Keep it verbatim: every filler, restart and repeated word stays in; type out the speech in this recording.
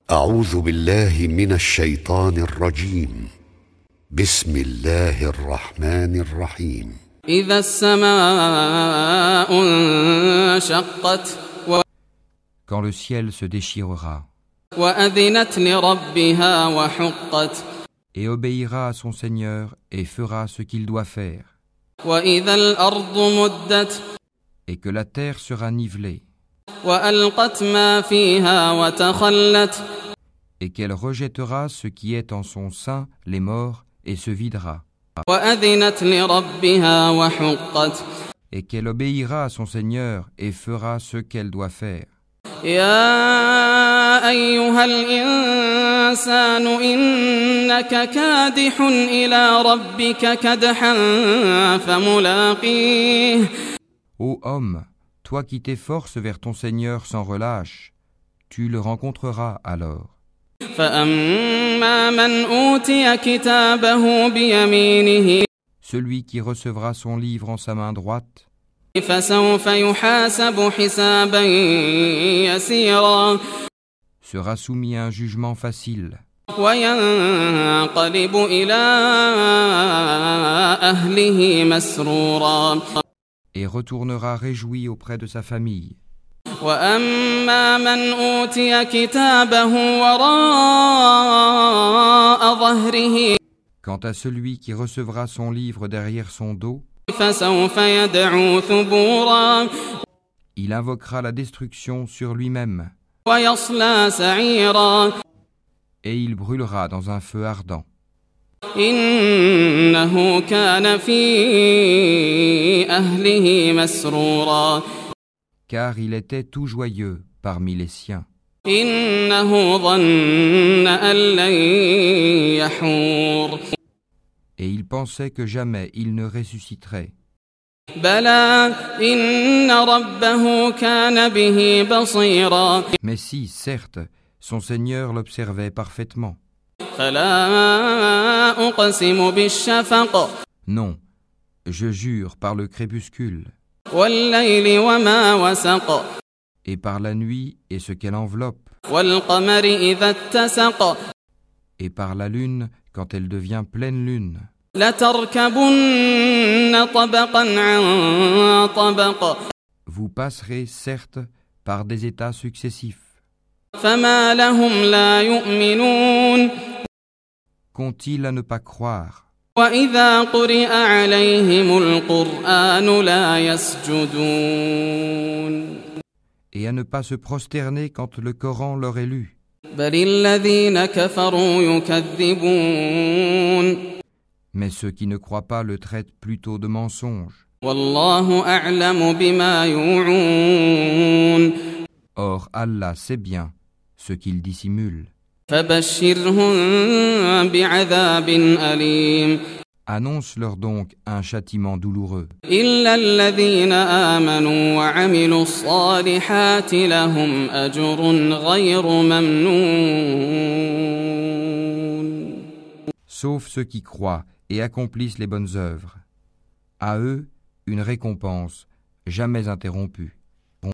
أعوذ بالله من الشيطان الرجيم. بسم الله الرحمن الرحيم. إذا السماء انشقت Quand le ciel se déchirera وأذنت لربها وحقت et obéira à son Seigneur et fera ce qu'il doit faire, وإذا الأرض مدت et que la terre sera nivelée, وألقت ما فيها وتخلت et qu'elle rejettera ce qui est en son sein, les morts, et se videra, وأذنت لربها وحقت et qu'elle obéira à son Seigneur et fera ce qu'elle doit faire. يا أيها الإنسان إنك كادح إلى ربك كدحا فملاقيه. Ô homme, toi qui t'efforces vers ton Seigneur sans relâche, tu le rencontreras alors. فأما من أوتي كتابه بيمينه Celui qui recevra son livre en sa main droite فسوف يحاسب حسابا يسيرا sera soumis à un jugement facile وينقلب إلى أهله مسرورا et retournera réjoui auprès de sa famille. وأما من أوتي كتابه وراء ظهره Quant à celui qui recevra son livre derrière son dos, فسوف يدعو ثبورا il invoquera la destruction sur lui-même ويصلى سعيرا et il brûlera dans un feu ardent. إنه كان في أهله مسرورا Car il était tout joyeux parmi les siens. إنه ظن أن لن يحور Et il pensait que jamais il ne ressusciterait. بلى إن ربه كان به بصيرا Mais si, certes, son Seigneur l'observait parfaitement. فلا أقسم بالشفق Non, je jure par le crépuscule, والليل وما وسق et par la nuit et ce qu'elle enveloppe, والقمر إذا اتسق et par la lune quand elle devient pleine lune. لتركبن طبقا عن طبق Vous passerez, certes, par des états successifs. فما لهم لا يؤمنون Qu'ont-ils à ne pas croire? وإذا قرئ عليهم القرآن لا يسجدون Et à ne pas se prosterner quand le Coran leur est lu. بل الذين كفروا يكذبون Mais ceux qui ne croient pas le traitent plutôt de mensonge. والله أعلم بما يوعون Or, Allah sait bien ce qu'ils dissimulent. فبشرهم بعذاب أليم Annonce-leur donc un châtiment douloureux. إلا الذين آمنوا وعملوا الصالحات لهم أجر غير ممنون. Sauf ceux qui croient et accomplissent les bonnes œuvres. À eux, une récompense jamais interrompue.